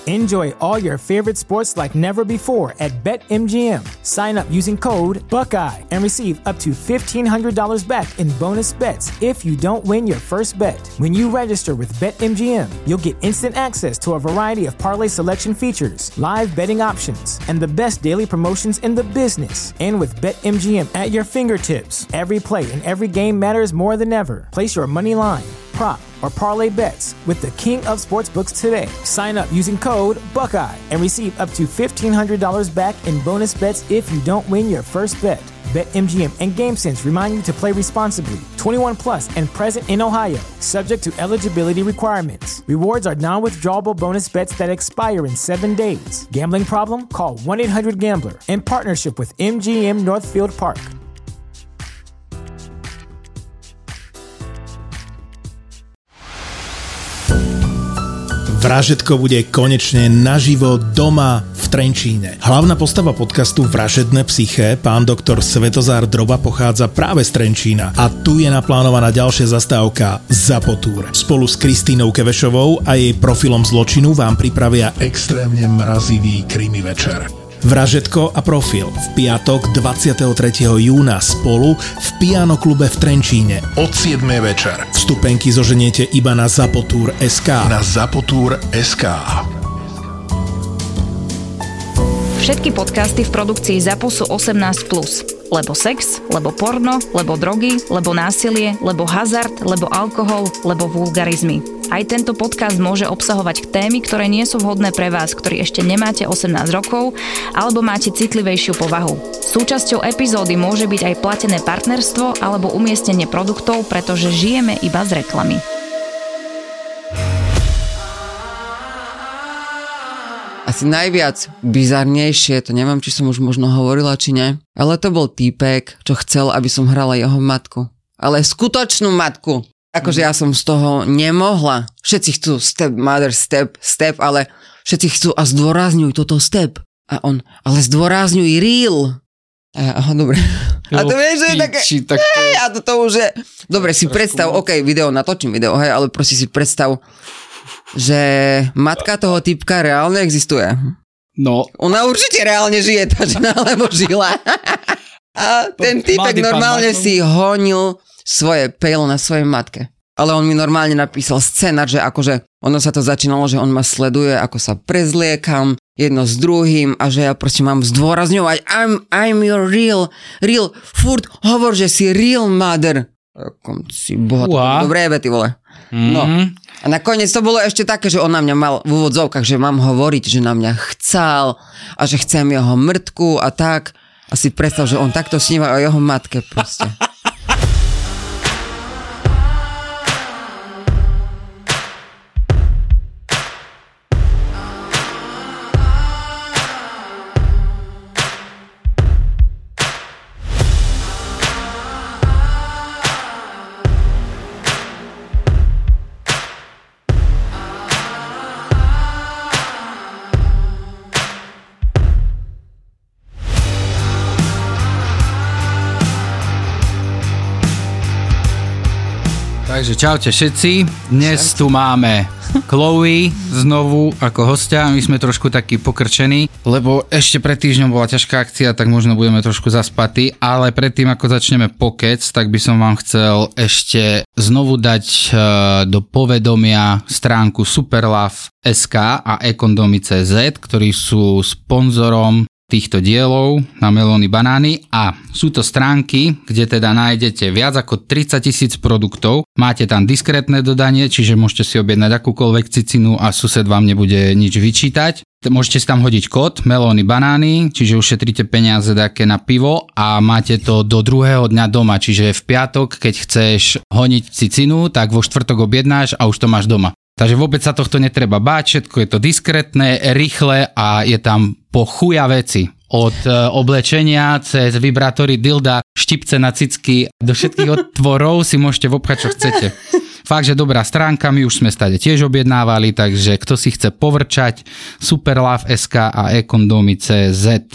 Enjoy all your favorite sports like never before at BetMGM. Sign up using code Buckeye and receive up to $1,500 back in bonus bets if you don't win your first bet. When you register with BetMGM, you'll get instant access to a variety of parlay selection features, live betting options, and the best daily promotions in the business. And with BetMGM at your fingertips, every play and every game matters more than ever. Place your money line, prop, or parlay bets with the king of sportsbooks today. Sign up using code Buckeye and receive up to $1,500 back in bonus bets if you don't win your first bet. BetMGM and GameSense remind you to play responsibly. 21 plus and present in Ohio, subject to eligibility requirements. Rewards are non-withdrawable bonus bets that expire in 7 days. Gambling problem? Call 1-800-GAMBLER. In partnership with MGM Northfield Park. Vražedko bude konečne naživo doma v Trenčíne. Hlavná postava podcastu Vražedné psyché, pán doktor Svetozár Droba, pochádza práve z Trenčína a tu je naplánovaná ďalšia zastávka Zapotúr. Spolu s Kristínou Kevešovou a jej profilom zločinu vám pripravia extrémne mrazivý krimi večer. Vražedko a profil v piatok 23. júna spolu v Piano klube v Trenčíne od 7. večer. Vstupenky zoženiete iba na Zapotúr.sk. Na Zapotúr.sk. Všetky podcasty v produkcii ZAPO sú 18+. Lebo sex, lebo porno, lebo drogy, lebo násilie, lebo hazard, lebo alkohol, lebo vulgarizmy. Aj tento podcast môže obsahovať témy, ktoré nie sú vhodné pre vás, ktorí ešte nemáte 18 rokov alebo máte citlivejšiu povahu. Súčasťou epizódy môže byť aj platené partnerstvo alebo umiestnenie produktov, pretože žijeme iba z reklamy. Asi najviac bizarnejšie, to neviem, či som už možno hovorila, či nie, ale to bol týpek, čo chcel, aby som hrala jeho matku. Ale skutočnú matku. Akože ja som z toho nemohla. Všetci chcú step, mother, step, ale všetci chcú a zdôrazňuj toto step. A on, ale zdôrazňuj real. A ja, aha, dobre. A to vieš, že je také, hej, a to už je... Dobre, si predstav, ok, natočím video, hej, ale prosím si predstav, že matka toho typka reálne existuje. No. Ona určite reálne žije, tá žena, alebo žila. A ten typek normálne si honil svoje pejlo na svojej matke. Ale on mi normálne napísal scenár, že akože ono sa to začínalo, že on ma sleduje, ako sa prezliekam jedno s druhým a že ja proste mám zdôrazňovať I'm your real, furt hovor, že si real mother. Ako si boha, dobré jebe, ty vole. No. A nakoniec to bolo ešte také, že on na mňa mal v úvodzovkách, že mám hovoriť, že na mňa chcel a že chcem jeho mŕtku a tak. A si predstav, že on takto sníva o jeho matke proste. Takže čaute všetci, dnes tu máme Chloe znovu ako hostia, my sme trošku takí pokrčení, lebo ešte pred týždňom bola ťažká akcia, tak možno budeme trošku zaspatí, ale predtým ako začneme pokec, tak by som vám chcel ešte znovu dať do povedomia stránku Superlove.sk a ekondomy.cz, ktorí sú sponzorom týchto dielov na Melóny banány a sú to stránky, kde teda nájdete viac ako 30 000 produktov, máte tam diskrétne dodanie, čiže môžete si objednať akúkoľvek cicinu a sused vám nebude nič vyčítať. Môžete si tam hodiť kód Melóny banány, čiže ušetríte peniaze také na pivo a máte to do druhého dňa doma, čiže v piatok, keď chceš honiť cicinu, tak vo štvrtok objednáš a už to máš doma. Takže vôbec sa tohto netreba báť, všetko je to diskrétne, rýchle a je tam po chuja veci. Od oblečenia cez vibrátory, dilda, štipce na cicky, do všetkých otvorov si môžete vopchať, čo chcete. Fakt, že dobrá stránka, my už sme stade tiež objednávali, takže kto si chce povrčať, Superlove.sk a ekondomy.cz.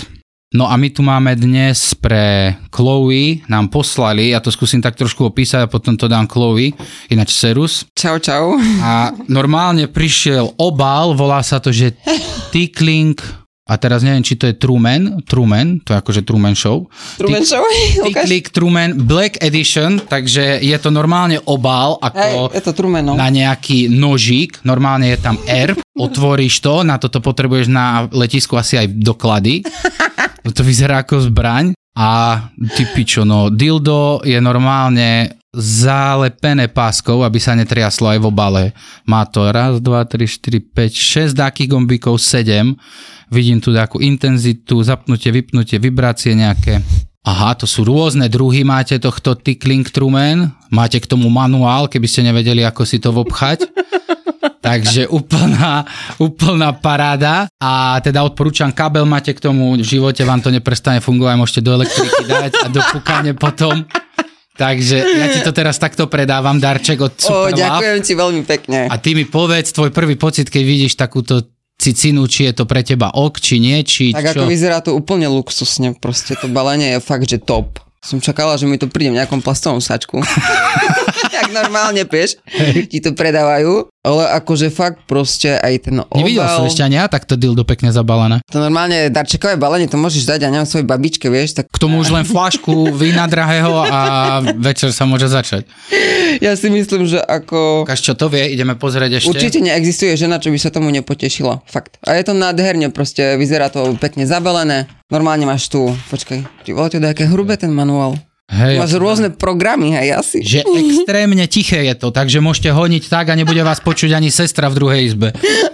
No a my tu máme dnes pre Chloe, nám poslali, ja to skúsim tak trošku opísať a potom to dám Chloe, ináč Serus. Čau. A normálne prišiel obal, volá sa to, že Tickling, a teraz neviem, či to je Truman, to je akože Truman Show. Tickling Truman Black Edition, takže je to normálne obal, ako je to Truman, no. Na nejaký nožík, normálne je tam R, otvoríš to, na toto potrebuješ na letisku asi aj doklady. To vyzerá ako zbraň a ty pičo, no dildo je normálne zalepené páskou, aby sa netriaslo aj v obale. Má to 1, 2, 3, 4, 5, 6 dákých gombíkov, 7. Vidím tu takú intenzitu, zapnutie, vypnutie, vibrácie nejaké. Aha, to sú rôzne druhy, máte tohto Tickling Truman, máte k tomu manuál, keby ste nevedeli, ako si to vobchať. Takže úplná paráda a teda odporúčam, kábel máte k tomu, v živote vám to neprestane fungovať, môžete do elektriky dať a do pukania potom. Takže ja ti to teraz takto predávam, darček od Super Love. Ďakujem ti veľmi pekne. A ty mi povedz tvoj prvý pocit, keď vidíš takúto cicinu, či je to pre teba ok, či nie, či tak čo? Ako vyzerá to úplne luxusne, proste to balenie je fakt, že top. Som čakala, že mi to príde v nejakom plastovom sačku. Jak normálne, vieš, ti to predávajú, ale akože fakt proste aj ten obal. Nevidel som ešte ani ja takto dildo pekne zabalené. To normálne darčekové balenie, to môžeš dať, ja neviem, svojej babičke, vieš. Tak... K tomu už len fľašku vína drahého a večer sa môže začať. Ja si myslím, že ako... Ukáž, čo to vie, ideme pozrieť ešte. Určite neexistuje žena, čo by sa tomu nepotešila. Fakt. A je to nádherne, proste vyzerá to pekne zabalené. Normálne máš tu, počkaj, ty vole, to je aké hrubé ten manuál. Hej, máš rôzne programy, hej, asi. Že extrémne tiché je to, takže môžete honiť tak a nebude vás počuť ani sestra v druhej izbe.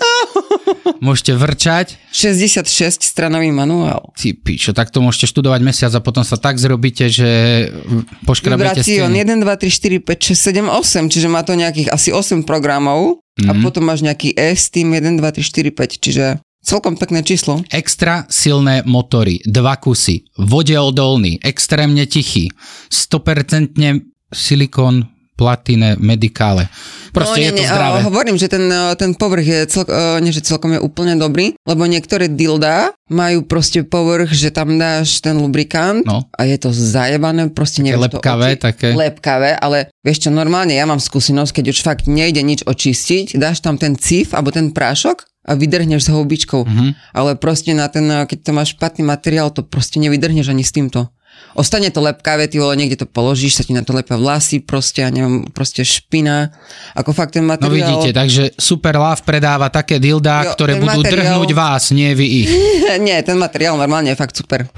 Môžete vrčať. 66 stranový manuál. Ty pičo, tak to môžete študovať mesiac a potom sa tak zrobíte, že poškrabete steny. 1, 2, 3, 4, 5, 6, 7, 8, čiže má to nejakých asi 8 programov a potom máš nejaký S-Team 1, 2, 3, 4, 5, čiže celkom pekné číslo. Extra silné motory, 2 kusy, vodeodolný, extrémne tichý, 100% silikón, platine, medikále. Proste je to zdravé. Hovorím, že ten povrch je celkom je úplne dobrý, lebo niektoré dildá majú proste povrch, že tam dáš ten lubrikant a je to zajebané, proste nevieš lepkavé, také. Lepkavé, ale vieš čo, normálne ja mám skúsenosť, keď už fakt nejde nič očistiť, dáš tam ten cif alebo ten prášok a vydrhneš s houbičkou. Ale proste na ten, keď to máš špatný materiál, to proste nevydrhneš ani s týmto. Ostane to lepkavé, ty vole, niekde to položíš, sa ti na to lepia vlasy, proste, ja neviem, proste špina. Ako fakt ten materiál... No vidíte, takže Super Love predáva také dildá, ktoré budú drhnúť vás, nie vy ich. Nie, ten materiál normálne je fakt super.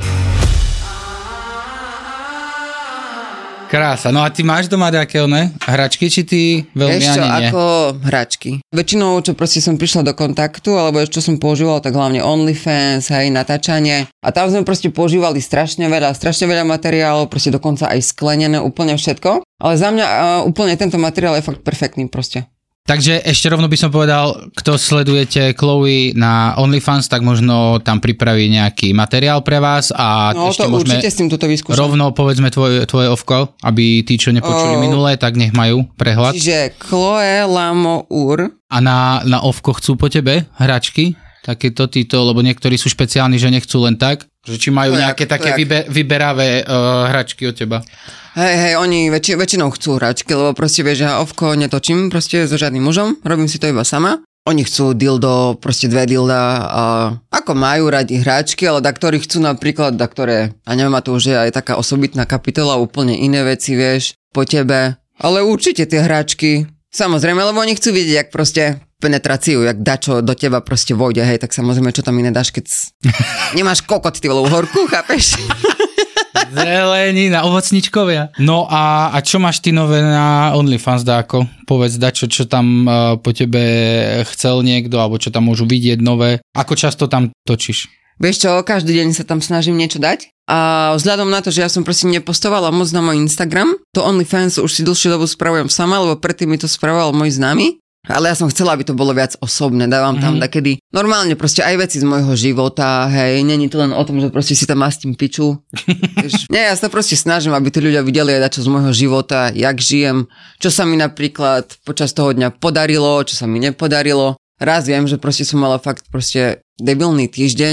Krása. No a ty máš doma nejaké hračky, či ty veľmi ešte ani nie? Ako hračky. Väčšinou, čo proste som prišla do kontaktu, alebo čo som používala, tak hlavne OnlyFans, hej, natáčanie. A tam sme proste používali strašne veľa materiálov, proste dokonca aj sklenené, úplne všetko. Ale za mňa úplne tento materiál je fakt perfektný proste. Takže ešte rovno by som povedal, kto sledujete Chloe na OnlyFans, tak možno tam pripraví nejaký materiál pre vás a no, ešte to môžeme určite s tým toto vyskúšať. Rovno povedzme tvoje ovko, aby tí, čo nepočuli minulé, tak nech majú prehľad. Čiže Chloe Lamour. A na ovko chcú po tebe hračky? Takéto títo, lebo niektorí sú špeciálni, že nechcú len tak, že či majú nejaké také vyberavé hračky od teba. Hej, oni väčšinou chcú hračky, lebo proste vieš, že ja ovko netočím proste so žiadnym mužom, robím si to iba sama. Oni chcú dildo, proste 2 dilda a ako majú radi hračky, ale ktorí chcú napríklad, ktoré, a neviem, a to už je aj taká osobitná kapitola, úplne iné veci, vieš, po tebe. Ale určite tie hračky, samozrejme, lebo oni chcú vidieť, jak proste penetráciu, jak dačo do teba proste vojde, hej, tak samozrejme, čo tam iné dáš, keď nemáš kokot, ty vole, uhorku, chápeš? Zelenina, ovocničkovia. No a čo máš ty nové na OnlyFans, dáko? Povedz, dačo, čo tam po tebe chcel niekto, alebo čo tam môžu vidieť nové. Ako často tam točíš? Vieš čo, každý deň sa tam snažím niečo dať. A vzhľadom na to, že ja som proste nepostovala moc na môj Instagram, to OnlyFans už si dlhšiu dobu spravujem sama, lebo predtým mi to spravoval môj známy. Ale ja som chcela, aby to bolo viac osobné. Dávam tam takedy normálne proste aj veci z môjho života, hej, není to len o tom, že proste si tam mastím piču. Nie, ja sa proste snažím, aby tí ľudia videli aj dačo z môjho života, jak žijem, čo sa mi napríklad počas toho dňa podarilo, čo sa mi nepodarilo. Raz viem, že proste som mala fakt proste debilný týždeň,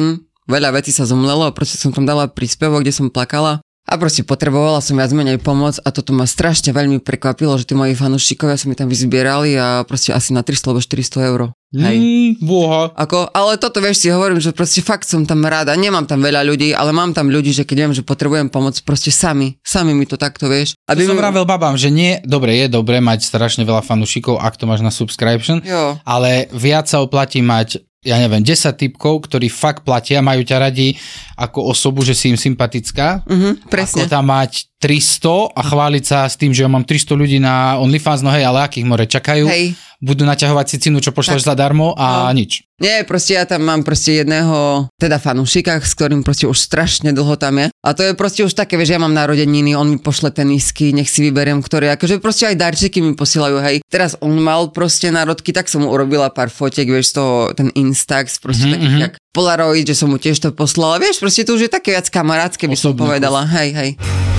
veľa vecí sa zomlelo a proste som tam dala príspevok, kde som plakala. A proste potrebovala som viac menej pomoc a toto ma strašne veľmi prekvapilo, že tí moji fanúšikovia sa mi tam vyzbierali a proste asi na 300 alebo 400 eur. Hej. Boha. Ale toto vieš si hovorím, že proste fakt som tam rada, nemám tam veľa ľudí, ale mám tam ľudí, že keď viem, že potrebujem pomoc, proste sami mi to takto vieš. Aby som vravel babám, že nie, je dobre mať strašne veľa fanúšikov, ak to máš na subscription, ale viac sa oplatí mať 10 typkov, ktorí fakt platia, majú ťa radi ako osobu, že si im sympatická. Presne. Ako tam mať 300 a chváliť sa s tým, že ja mám 300 ľudí na OnlyFans, no hej, ale akých more čakajú. Hej. Budú naťahovať si cenu, čo pošleš zadarmo a nič. Nie, proste ja tam mám proste jedného teda fanúšika, s ktorým proste už strašne dlho tam je. A to je proste už také, vieš, ja mám narodeniny, on mi pošle tenisky, nech si vyberiem, ktoré, akože proste aj darčeky mi posielajú, hej. Teraz on mal proste národky, tak som mu urobila pár fotiek, vieš, z toho, ten Instax, proste takých jak Polaroid, že som mu tiež to poslala, vieš, proste to už je také viac kamarátske, by som povedala, hej.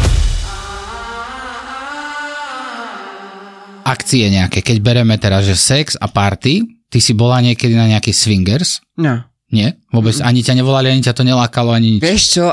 Akcie nejaké, keď bereme teraz, že sex a party, ty si bola niekedy na nejaký swingers? No. Nie? Vôbec ani ťa nevolali, ani ťa to nelákalo, ani nič? Vieš čo,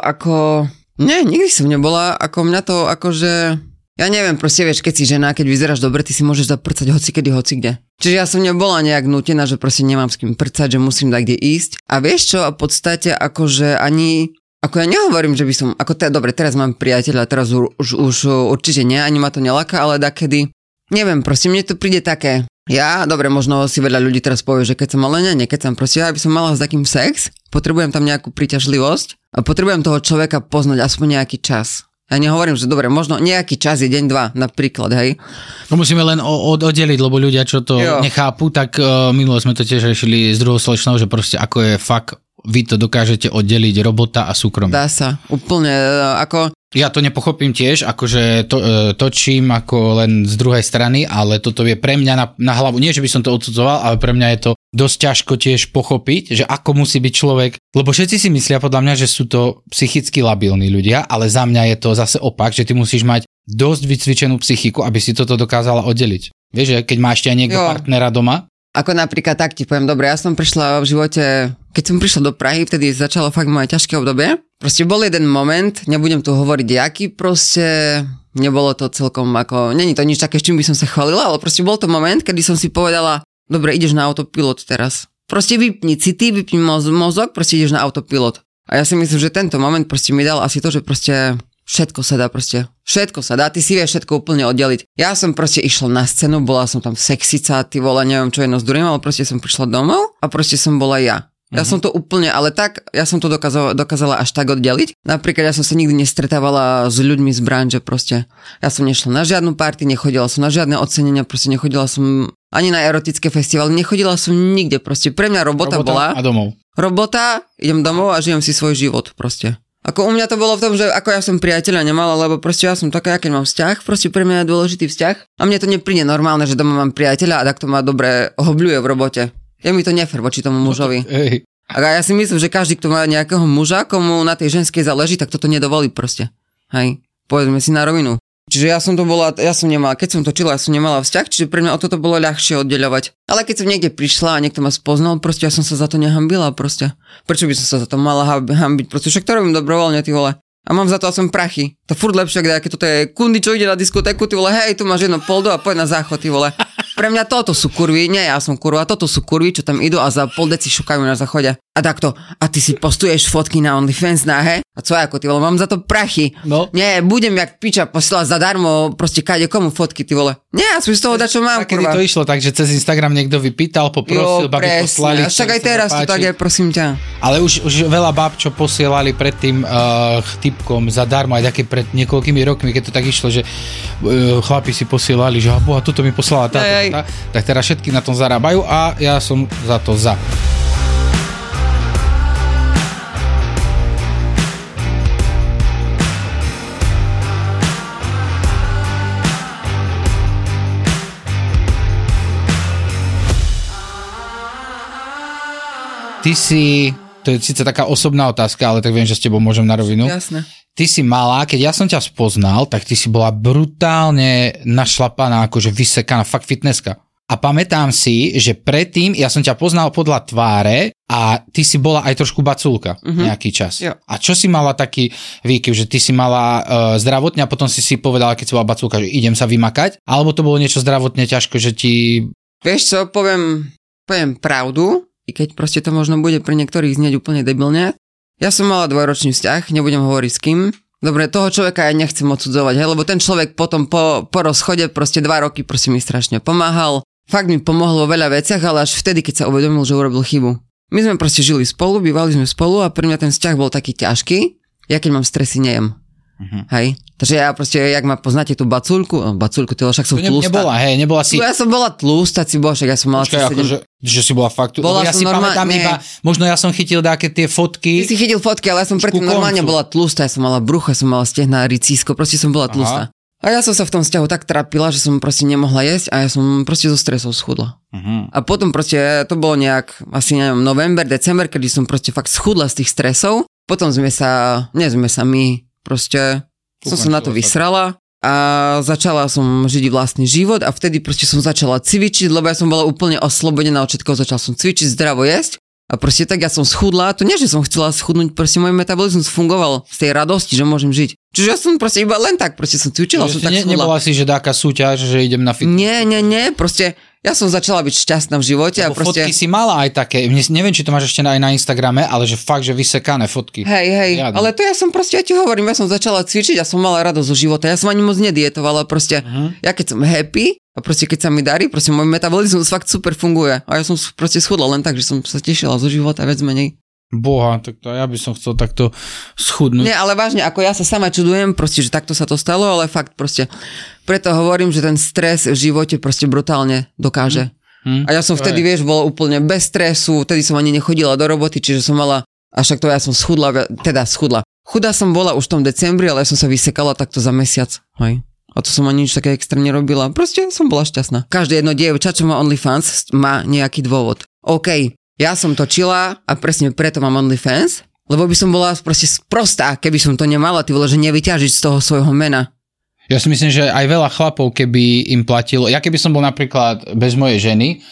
Nie, nikdy som nebola, ako mňa to, akože... Ja neviem, proste vieš, keď si žena, keď vyzeráš dobre, ty si môžeš zaprcať hocikedy, hocikde. Čiže ja som nebola nejak nútená, že proste nemám s kým prcať, že musím dať kde ísť. A vieš čo, a v podstate akože ani... Ako ja nehovorím, že by som... Dobre, teraz mám priateľa, teraz už určite nie, ani ma to neláka, ale dakedy... Neviem, proste mne to príde také. Dobre, možno si veľa ľudí teraz povie, že keď som ale nekecam, proste ja by som mala s takým sex, potrebujem tam nejakú príťažlivosť a potrebujem toho človeka poznať aspoň nejaký čas. Ja nehovorím, že dobre, možno nejaký čas je deň, 2, napríklad, hej. No musíme len oddeliť, lebo ľudia, čo to nechápu, tak minule sme to tiež riešili s druhou slečnou, že proste ako je fakt, vy to dokážete oddeliť robota a súkromie. Dá sa, úplne, ako... Ja to nepochopím tiež, akože točím ako len z druhej strany, ale toto je pre mňa na hlavu, nie že by som to odsudzoval, ale pre mňa je to dosť ťažko tiež pochopiť, že ako musí byť človek, lebo všetci si myslia podľa mňa, že sú to psychicky labilní ľudia, ale za mňa je to zase opak, že ty musíš mať dosť vycvičenú psychiku, aby si toto dokázala oddeliť. Vieš, že keď máš ešte niekto partnera doma? Ako napríklad tak ti poviem, dobre, ja som prišla v živote, keď som prišla do Prahy, vtedy začalo fakt moje ťažké obdobie. Proste bol jeden moment, nebudem tu hovoriť jaký, proste nebolo to celkom ako, není to nič také, s čím by som sa chválila, ale proste bol to moment, kedy som si povedala, dobre, ideš na autopilot teraz. Proste vypni city, vypni mozog, proste ideš na autopilot. A ja si myslím, že tento moment proste mi dal asi to, že proste všetko sa dá proste. Všetko sa dá, ty si vieš všetko úplne oddeliť. Ja som proste išla na scénu, bola som tam sexica, ty vole, neviem čo jedno z druhým, ale proste som prišla domov a proste som bola ja. Ja som to úplne, ale tak, ja som to dokázala až tak oddeliť. Napríklad ja som sa nikdy nestretávala s ľuďmi z branže proste. Ja som nešla na žiadnu party, nechodila som na žiadne ocenenia, proste nechodila som ani na erotické festivaly, nechodila som nikde proste. Pre mňa robota bola... A domov. Robota, idem domov a žijem si svoj život proste. Ako u mňa to bolo v tom, že ako ja som priateľa nemala, lebo proste ja som taká, keď mám vzťah, proste pre mňa je dôležitý vzťah. A mne to nepríde normálne, že doma mám priateľa a takto ma dobre hobľuje v robote. Je mi to nefér voči tomu mužovi. A ja si myslím, že každý, kto má nejakého muža, komu na tej ženskej záleží, tak toto nedovolí proste. Hej, povedzme si na rovinu. Čiže ja som nemala, keď som točila, ja som nemala vzťah, čiže pre mňa o toto bolo ľahšie oddeľovať. Ale keď som niekde prišla a niekto ma spoznal, proste ja som sa za to nehambila proste. Prečo by som sa za to mala hambiť? Proste však to robím dobrovoľne, ty vole. A mám za to aspoň prachy. To furt lepšie, keď toto je kundy, čo ide na diskotéku, ty vole, hej, tu máš jedno poldo a poď na záchod, ty vole. Pre mňa toto sú kurvy, nie ja som kurva, toto sú kurvy, čo tam idú a za pol deci šukajú na záchode. A takto, a ty si postuješ fotky na OnlyFans nahé? A co ako, ty vole, mám za to prachy. No. Nie, budem jak piča posielať zadarmo, proste kade komu fotky, ty vole. Nie, ja som z toho dačo mám, kurva. Kedy to išlo tak, že cez Instagram niekto vypýtal, poprosil, babi poslali. Však aj teraz to tak je, prosím ťa. Ale už veľa bab, čo posielali predtým typkom zadarmo, aj také pred niekoľkými rokmi, keď to tak išlo, že chlapi si posielali, že boha, toto mi poslala táto. Tak teraz všetky na tom zarábajú a ja som za to za. Ty si, to je síce taká osobná otázka, ale tak viem, že s tebou môžem na rovinu. Jasné. Ty si malá, keď ja som ťa spoznal, tak ty si bola brutálne našlapaná, akože vysekaná, fakt fitnesska. A a pamätám si, že predtým ja som ťa poznal podľa tváre a ty si bola aj trošku baculka nejaký čas. Jo. A čo si mala taký výkyv, že ty si mala zdravotne a potom si povedala, keď si bola baculka, že idem sa vymakať? Alebo to bolo niečo zdravotne ťažko, že ti... Vieš čo, poviem pravdu, i keď proste to možno bude pre niektorých znieť úplne debilne. Ja som mala 2-ročný vzťah, nebudem hovoriť s kým. Dobre, toho človeka ja nechcem odsudzovať, lebo ten človek potom po rozchode proste 2 roky proste mi strašne pomáhal. Fakt mi pomohlo vo veľa veciach, ale až vtedy, keď sa uvedomil, že urobil chybu. My sme proste žili spolu, bývali sme spolu a pre mňa ten vzťah bol taký ťažký. Ja keď mám stresy, nejem. Hej. Takže ja proste, jak ma poznáte tú baculku, ty však som tlustá. Nebola si... Ja som bola tlustá, však ja som mala... Počkaj, že si bola fakt... Ja si pamätám iba, možno ja som chytil také tie fotky. Ty si chytil fotky, ale ja som predtým normálne bola tlustá, ja som mala brucho, ja som mala stehná, ricísko, proste som bola tlustá. A ja som sa v tom vzťahu tak trápila, že som proste nemohla jesť a ja som proste zo stresov schudla. A potom proste, to bolo nejak, asi neviem, november, december, kedy som proste fakt schudla z tých stresov. Potom proste som sa na to vysrala a začala som žiť vlastný život a vtedy proste som začala cvičiť, lebo ja som bola úplne oslobodená od všetkoho, začala som cvičiť, zdravo jesť a proste tak ja som schudla, to nie, že som chcela schudnúť, proste môj metabolizmus fungoval z tej radosti, že môžem žiť. Čiže ja som proste iba len tak, proste som cvičila, som tak schudla. Nebola si, že dáka súťaž, že idem na fitness? Nie, proste ja som začala byť šťastná v živote. Lebo a proste... fotky si mala aj také, neviem, či to máš ešte aj na Instagrame, ale že fakt, že vysekané fotky. Hej, ale to ja som proste, ja ti hovorím, ja som začala cvičiť a som mala radosť zo života, ja som ani moc nedietovala, proste, ja keď som happy a proste keď sa mi darí, proste môj metabolizmus fakt super funguje a ja som proste schudla len tak, že som sa tešila zo života viac menej. Boha, tak to ja by som chcel takto schudnúť. Nie, ale vážne, ako ja sa sama čudujem, proste, že takto sa to stalo, ale fakt proste, preto hovorím, že ten stres v živote proste brutálne dokáže. A ja som vtedy, vieš, bola úplne bez stresu, vtedy som ani nechodila do roboty, čiže som mala, a však to ja som schudla. Chudá som bola už v tom decembri, ale ja som sa vysekala takto za mesiac, hej. A to som ani nič také extrémne robila, proste som bola šťastná. Každé jedno dievča, čo má OnlyFans, má nejaký dôvod. OK. Ja som točila a presne preto mám OnlyFans, lebo by som bola proste sprostá, keby som to nemala, ty vole, že nevyťažiť z toho svojho mena. Ja si myslím, že aj veľa chlapov, keby im platilo, ja keby som bol napríklad bez mojej ženy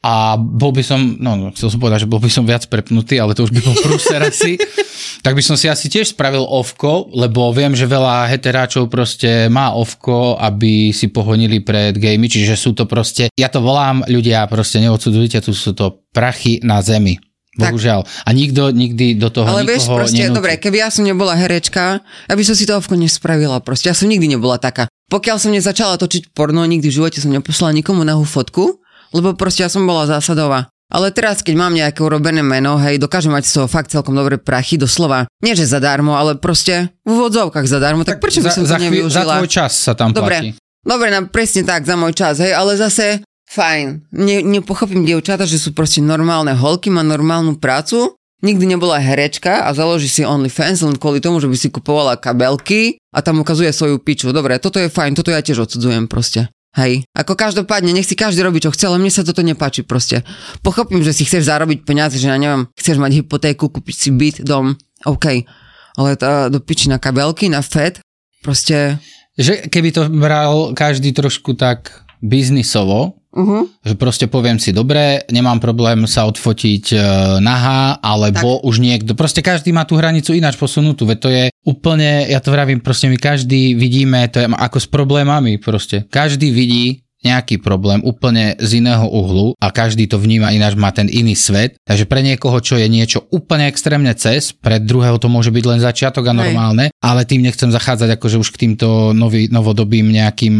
a bol by som, chcel som povedať, že bol by som viac prepnutý, ale to už by bol prúser asi, tak by som si asi tiež spravil ovko, lebo viem, že veľa heteráčov proste má ovko, aby si pohonili pred gejmi, čiže sú to proste, ja to volám, ľudia proste neodsudzujte, tu sú to prachy na zemi. Bohužiaľ. A nikto nikdy do toho ale nikoho vieš, proste, nenúti. Dobre, keby ja som nebola herečka, aby som si to ovko nespravila, proste, ja som nikdy nebola taká. Pokiaľ som nezačala točiť porno, nikdy v živote som neposlala nikomu nahú fotku, lebo proste ja som bola zásadová. Ale teraz, keď mám nejaké urobené meno, hej, dokážem mať z toho fakt celkom dobré prachy, doslova. Nie, že zadarmo, ale proste v úvodzovkách zadarmo, tak prečo by som to nevyužila? Za tvoj čas sa tam platí. Dobre, presne tak, za môj čas, hej, ale zase fajn. Nepochopím dievčata, že sú proste normálne holky, má normálnu prácu, nikdy nebola herečka a založí si OnlyFans len kvôli tomu, že by si kupovala kabelky a tam ukazuje svoju piču. Dobre, toto je fajn, toto ja tiež odsudzujem proste. Hej, ako každopádne, nech si každý robí, čo chce, ale mne sa toto nepáči proste. Pochopím, že si chceš zarobiť peniaze, že ja neviem, chceš mať hypotéku, kúpiť si byt, dom, OK. Ale do piči na kabelky, na fed, proste... Že keby to bral každý trošku tak biznisovo, že proste poviem si, dobre, nemám problém sa odfotiť nahá, alebo tak. Už niekto, proste každý má tú hranicu ináč posunutú, veď to je úplne, ja to vravím, proste my každý vidíme, to je ako s problémami proste, každý vidí nejaký problém úplne z iného uhlu a každý to vníma ináč, má ten iný svet, takže pre niekoho, čo je niečo úplne extrémne cez, pre druhého to môže byť len začiatok a normálne, ale tým nechcem zachádzať akože už k týmto novodobým nejakým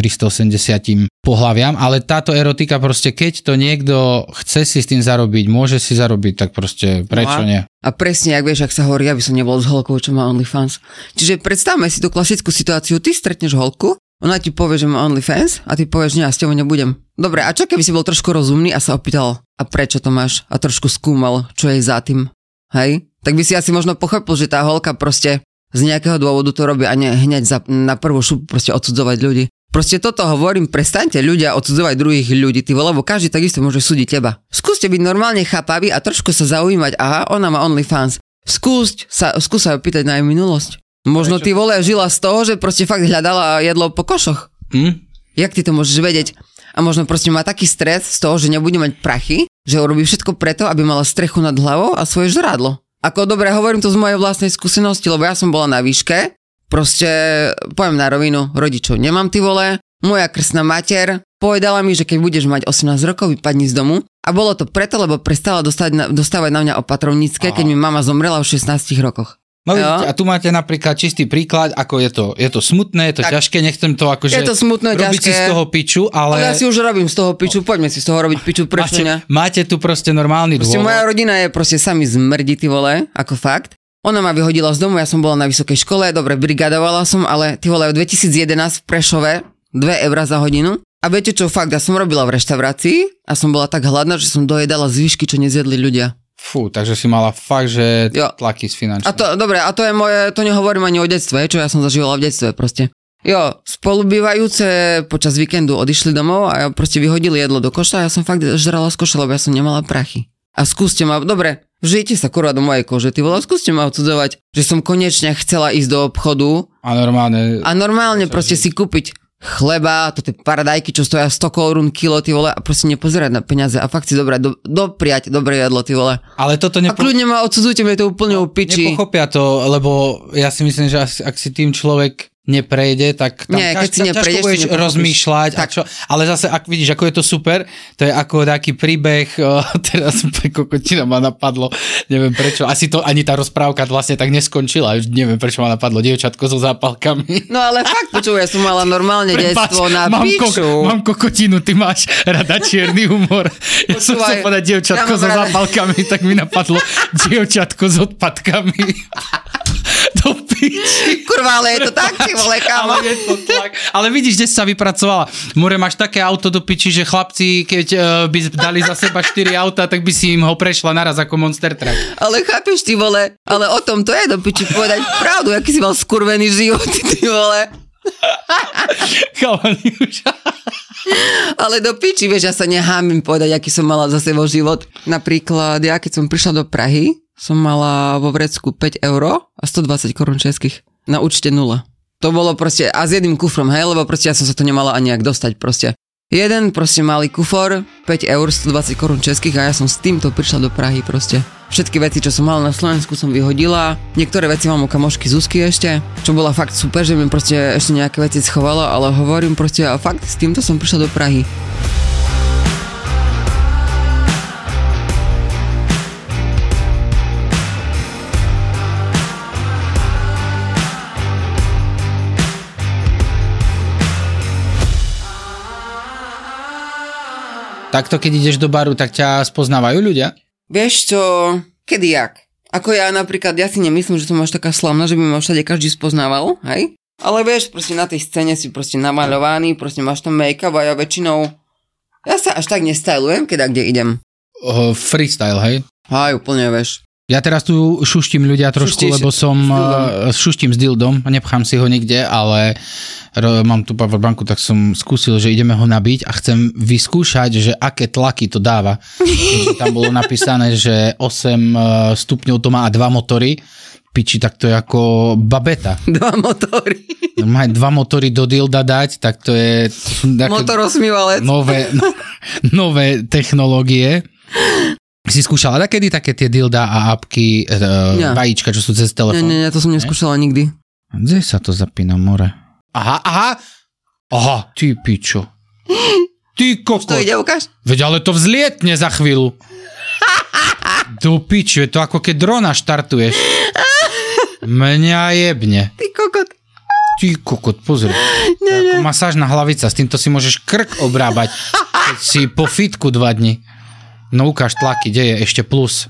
380 pohlaviam, ale táto erotika proste, keď to niekto chce si s tým zarobiť, môže si zarobiť, tak proste prečo nie? A presne, ak vieš, ak sa hovorí, aby som nebol s holkou, čo má OnlyFans. Čiže predstavme si tú klasickú situáciu, ty stretneš holku, ona ti povie, že má OnlyFans a ty povieš, nie, ja s tebou nebudem. Dobre, a čo keby si bol trošku rozumný a sa opýtal, a prečo to máš? A trošku skúmal, čo je za tým. Hej? Tak by si asi možno pochopil, že tá holka proste z nejakého dôvodu to robí a nie hneď na prvú šupu proste odsudzovať ľudí. Proste toto hovorím, prestaňte ľudia odsudzovať druhých ľudí, ty vole, lebo každý takisto môže súdiť teba. Skúste byť normálne chápaví a trošku sa zaujímať, aha, ona má OnlyFans. Skús sa opýtať na jej minulosť. Možno ty vole žila z toho, že proste fakt hľadala jedlo po košoch. Jak ty to môžeš vedieť? a možno proste má taký stres z toho, že nebude mať prachy, že urobí všetko preto, aby mala strechu nad hlavou a svoje žrádlo. Ako dobre, hovorím to z mojej vlastnej skúsenosti, lebo ja som bola na výške, proste poviem na rovinu, rodičov nemám, ty vole, moja krstná mater povedala mi, že keď budeš mať 18 rokov, vypadni z domu a bolo to preto, lebo prestala dostávať na mňa opatrovnícke, keď mi mama zomrela v 16 rokoch. No vidíte, a tu máte napríklad čistý príklad, ako je to smutné, je to tak, ťažké, nechcem to akože je to smutné, robiť ťažké. Si z toho piču, ale... Ja si už robím z toho piču, poďme si z toho robiť piču, prečo ne? Máte tu proste normálny proste dôvod. Moja rodina je proste sami zmrdí, ty vole, ako fakt. Ona ma vyhodila z domu, ja som bola na vysokej škole, dobre, brigadovala som, ale ty vole, v 2011 v Prešove 2 eurá za hodinu. A viete čo, fakt, ja som robila v reštaurácii a som bola tak hladná, že som dojedala zvyšky, čo nezjedli ľudia. Fú, takže si mala fakt, že tlaky z finančných. A to, dobre, a to je moje, to nehovorím ani o detstve, čo ja som zažívala v detstve proste. Jo, spolubývajúce počas víkendu odišli domov a ja proste vyhodili jedlo do koša a ja som fakt žrala z koša, lebo ja som nemala prachy. A skúste ma, dobre, žijte sa kurva do mojej kože, ty vole, skúste ma odsudzovať, že som konečne chcela ísť do obchodu. A normálne proste si kúpiť chleba, to tie paradajky, čo stoja 100 korún kilo, ty vole, a proste nepozerať na peniaze a fakt si dobrať, dopriať dobré jedlo, ty vole. Ale toto A kľudne ma odsudzujte, mi je to úplne upiči. Nepochopia to, lebo ja si myslím, že ak si tým človek neprejde, tak tam ťažko budeš rozmýšľať. A čo, ale zase, ak vidíš, ako je to super, to je ako taký príbeh, teraz kokotina ma napadlo, neviem prečo, asi to ani tá rozprávka vlastne tak neskončila, neviem prečo ma napadlo, dievčatko so zápalkami. No ale fakt, počuj, ja som mala normálne detstvo na piču. Mám kokotinu, ty máš rada čierny humor. Ja som chcel povedať dievčatko so zápalkami, tak mi napadlo dievčatko s odpadkami. Do piči. Kurva, ale je to tak, ty vole, kámo. Ale vidíš, kde sa vypracovala. More, máš také auto do piči, že chlapci, keď by dali za seba 4 auta, tak by si im ho prešla naraz ako Monster Truck. Ale chápeš, ty vole, ale o tom to je do piči povedať pravdu, aký si mal skurvený život, ty vole. Chalani už. Ale do piči, vieš, ja sa nehámim povedať, aký som mala za sebou život. Napríklad, ja keď som prišla do Prahy, som mala vo vrecku 5 euro a 120 korún českých. Na účte 0. To bolo proste, a s jedným kufrom, hej, lebo proste ja som sa to nemala ani jak dostať proste. Jeden proste malý kufor, 5 eur, 120 korún českých a ja som s týmto prišla do Prahy proste. Všetky veci, čo som mala na Slovensku, som vyhodila. Niektoré veci mám u kamošky Zuzky ešte, čo bola fakt super, že mi proste ešte nejaké veci schovala, ale hovorím proste, a fakt s týmto som prišla do Prahy. Takto, keď ideš do baru, tak ťa spoznávajú ľudia? Vieš čo, kedy jak? Ako ja napríklad, ja si nemyslím, že som až taká slavná, že by ma všade každý spoznával, hej? Ale vieš, proste na tej scéne si proste namaľovaný, proste máš tam make-up a ja väčšinou, ja sa až tak nestylujem, keď kde idem. Freestyle, hej? Hej, úplne, vieš. Ja teraz tu šuštím ľudia trošku, lebo som šuštím s dildom, nepchám si ho nikde, ale mám tu powerbanku, tak som skúsil, že ideme ho nabiť a chcem vyskúšať, že aké tlaky to dáva. Tam bolo napísané, že 8 stupňov to má a 2 motory. Piči, tak to je ako babeta. 2 motory. Má 2 motory do dilda dať, tak to je... Motorosmývalec. Nové technológie. Si skúšala takedy také tie dilda a apky, vajíčka, čo sú cez telefón? Nie, to som neskúšala nikdy. Kde sa to zapína, more? Aha, ty pičo. Ty kokot. To ide, ukáž? Veď ale to vzlietne za chvíľu. Do pičo, je to ako keď drona štartuješ. Mňa jebne. Ty kokot, pozri. Ako masážna hlavica, s týmto si môžeš krk obrábať, keď si po fitku 2 dni. No ukáž tlaky, kde je ešte plus.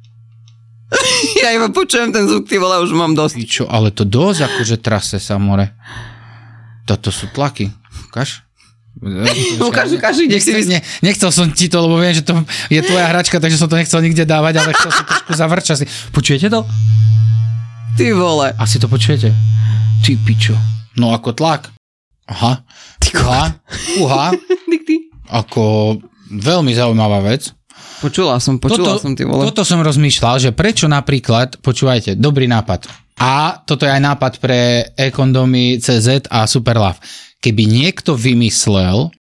Ja iba počujem ten zvuk, ty vole, už mám dosť. Čo, ale to dosť akože trase sa, more. Toto sú tlaky. Ukáž? Ukáž, ide si nechcel som ti to, lebo viem, že to je tvoja hračka, takže som to nechcel nikde dávať, ale chcel som trošku zavrčať. Počujete to? Ty vole. Asi to počujete? Ty pičo. No ako tlak. Aha. Uha. Ako veľmi zaujímavá vec. Počula som, ty vole. Toto som rozmýšľal, že prečo napríklad, počúvajte, dobrý nápad. A toto je aj nápad pre e-kondomy CZ a Superlove. Keby niekto vymyslel,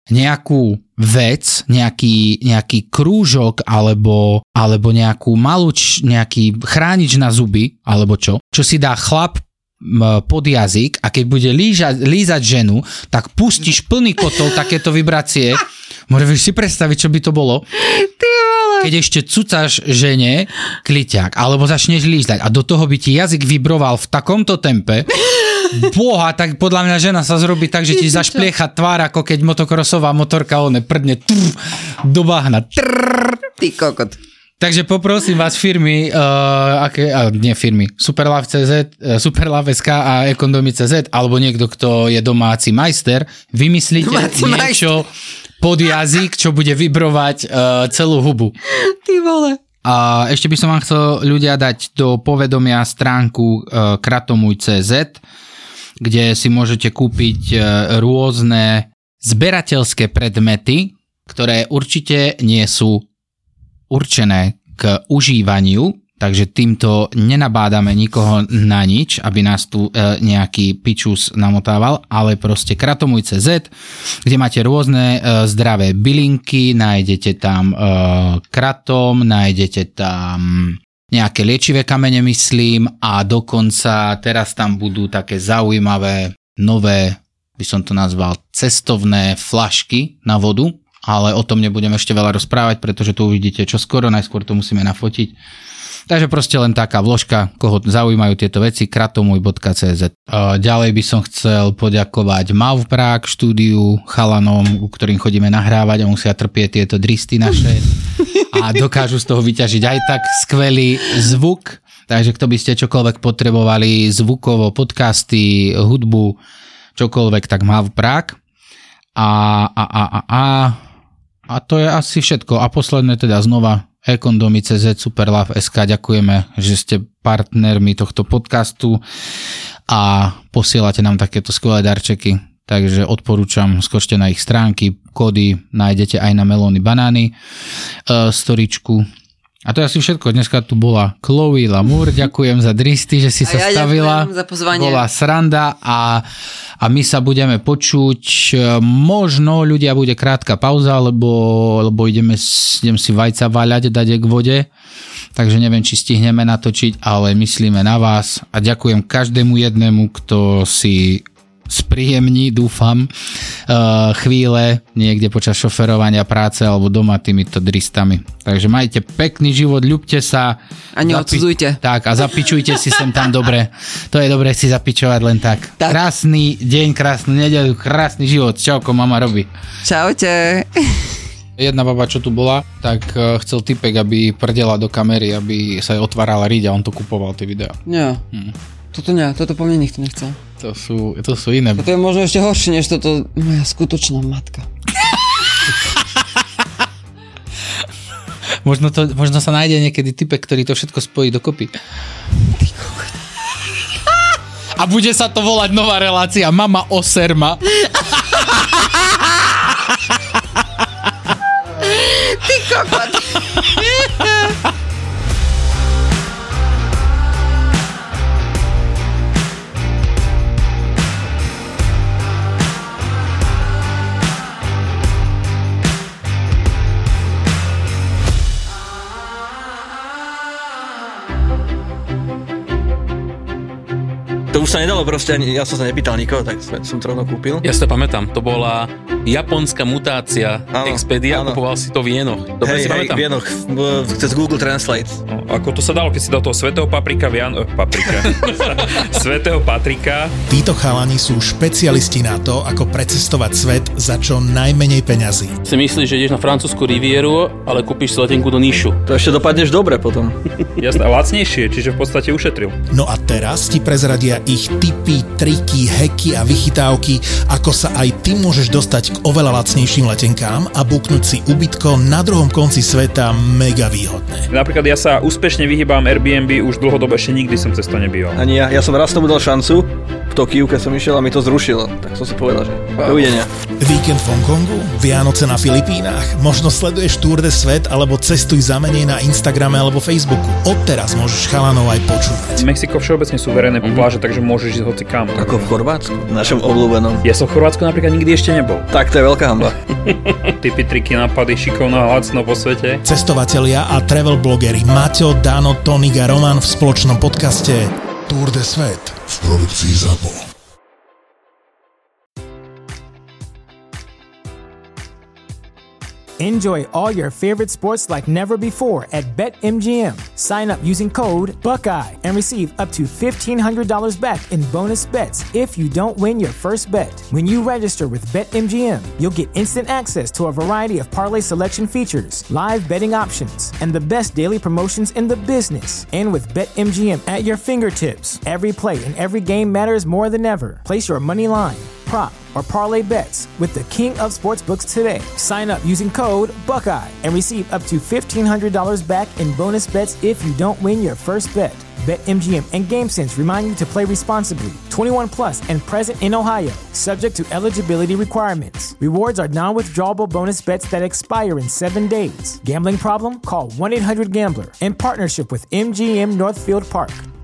nejakú vec, nejaký krúžok alebo nejakú nejaký chránič na zuby, alebo čo si dá chlap pod jazyk a keď bude lízať ženu, tak pustíš plný kotol takéto vibrácie. Môžeš si predstaviť, čo by to bolo? Keď ešte cucáš žene kliťák, alebo začneš lízať a do toho by ti jazyk vibroval v takomto tempe, boha, tak podľa mňa žena sa zrobí tak, že ti zašpliecha tvár, ako keď motokrosová motorka prdne do bahna. Ty kokot. Takže poprosím vás firmy, Superlove.cz, Superlove.sk a Ekondomy.cz, alebo niekto, kto je domáci majster, vymyslíte niečo pod jazyk, čo bude vibrovať celú hubu. Ty vole. A ešte by som vám chcel ľudia dať do povedomia stránku kratomuj.cz, kde si môžete kúpiť rôzne zberateľské predmety, ktoré určite nie sú určené k užívaniu, takže týmto nenabádame nikoho na nič, aby nás tu nejaký pičus namotával, ale proste kratomuj.cz, kde máte rôzne zdravé bylinky, nájdete tam kratom, nájdete tam nejaké liečivé kamene, myslím, a dokonca teraz tam budú také zaujímavé, nové, by som to nazval, cestovné flašky na vodu, ale o tom nebudem ešte veľa rozprávať, pretože to uvidíte čoskoro, najskôr to musíme nafotiť. Takže proste len taká vložka, koho zaujímajú tieto veci, kratomuj.cz. Ďalej by som chcel poďakovať Mavprak štúdiu, chalanom, u ktorým chodíme nahrávať a musia trpieť tieto dristy naše a dokážu z toho vyťažiť aj tak skvelý zvuk. Takže kto by ste čokoľvek potrebovali, zvukovo, podcasty, hudbu, čokoľvek, tak Mavprak. A to je asi všetko. A posledné teda znova Ekondomy.cz, Superlove.sk, ďakujeme, že ste partnermi tohto podcastu a posielate nám takéto skvelé darčeky, takže odporúčam, skočte na ich stránky, kódy nájdete aj na melóny banány, storičku. A to je asi všetko. Dneska tu bola Chloe Lamour. Ďakujem za dristy, že si sa stavila. Ďakujem za pozvanie. Bola sranda a my sa budeme počuť. Možno ľudia bude krátka pauza, lebo idem si vajca váľať, dať k vode. Takže neviem, či stihneme natočiť, ale myslíme na vás a ďakujem každému jednému, kto si spríjemní, dúfam, chvíle niekde počas šoferovania, práce alebo doma týmito dristami. Takže majte pekný život, ľubte sa. A neodsudzujte. Tak, a zapičujte si sem tam dobre. To je dobre si zapičovať len tak. Krásny deň, krásnu nedeľu, krásny život. Čauko, mama robí. Čaute. Jedna baba, čo tu bola, tak chcel typek, aby prdela do kamery, aby sa otvárala riť a on to kupoval, tie videá. Nie. Toto po mne nikto nechcel. To sú iné. Toto je možno ešte horšie, než toto moja skutočná matka. možno sa nájde niekedy typek, ktorý to všetko spojí dokopy. A bude sa to volať nová relácia Mama Oserma. Ty kokot. To už sa nedalo proste, ja som sa nepýtal nikoho, tak som to rovno kúpil. Ja si to pamätám, to bola japonská mutácia Expedia, kupoval si to v jenoch. Dobre si pamätám. V jenoch, cez Google Translate. No, ako to sa dalo, keď si dal toho svätého svätého Patrika. Títo chalani sú špecialisti na to, ako precestovať svet za čo najmenej peňazí. Si myslíš, že ideš na francúzsku rivieru, ale kúpiš si letenku do Níšu. To ešte dopadneš dobre potom. Jasné, a lacnejšie, čiže v podstate ušetril. No a teraz ti prezradia ich tipy, triky, heky a vychytávky, ako sa aj ty môžeš dostať k oveľa lacnejším letenkám a buknúť si ubytko na druhom konci sveta mega výhodné. Napríklad ja sa úspešne vyhýbam Airbnb, už dlhodobo ešte nikdy som cez to nebýval. Ani ja som raz tomu dal šancu, v Tokiu, keď som išiel a mi to zrušilo. Tak som si povedal, že dovidenia. Víkend v Hongkongu? Vianoce na Filipínach? Možno sleduješ Tour de Svet alebo cestuj za menej na Instagrame alebo Facebooku. Odteraz môžeš chalanov aj počúvať. Mexiko všeobecne sú verejné pláže, takže môžeš ísť hoci kam. Ako v Chorvátsku, v našom obľúbenom. Ja som v Chorvátsku napríklad nikdy ešte nebol. Tak to je veľká hanba. Tipy, triky, nápady, šikovno a lacno po svete. Cestovatelia a travel blogeri Maťo, Dano, Tonik a Roman v spoločnom podcaste Tour de Svet v produkcii ZAPO. Enjoy all your favorite sports like never before at BetMGM. Sign up using code Buckeye and receive up to $1,500 back in bonus bets if you don't win your first bet. When you register with BetMGM, you'll get instant access to a variety of parlay selection features, live betting options, and the best daily promotions in the business. And with BetMGM at your fingertips, every play and every game matters more than ever. Place your money line, prop, or parlay bets with the king of sportsbooks today. Sign up using code Buckeye and receive up to $1,500 back in bonus bets if you don't win your first bet. BetMGM and GameSense remind you to play responsibly. 21 plus and present in Ohio, subject to eligibility requirements. Rewards are non-withdrawable bonus bets that expire in 7 days. Gambling problem? Call 1-800-GAMBLER in partnership with MGM Northfield Park.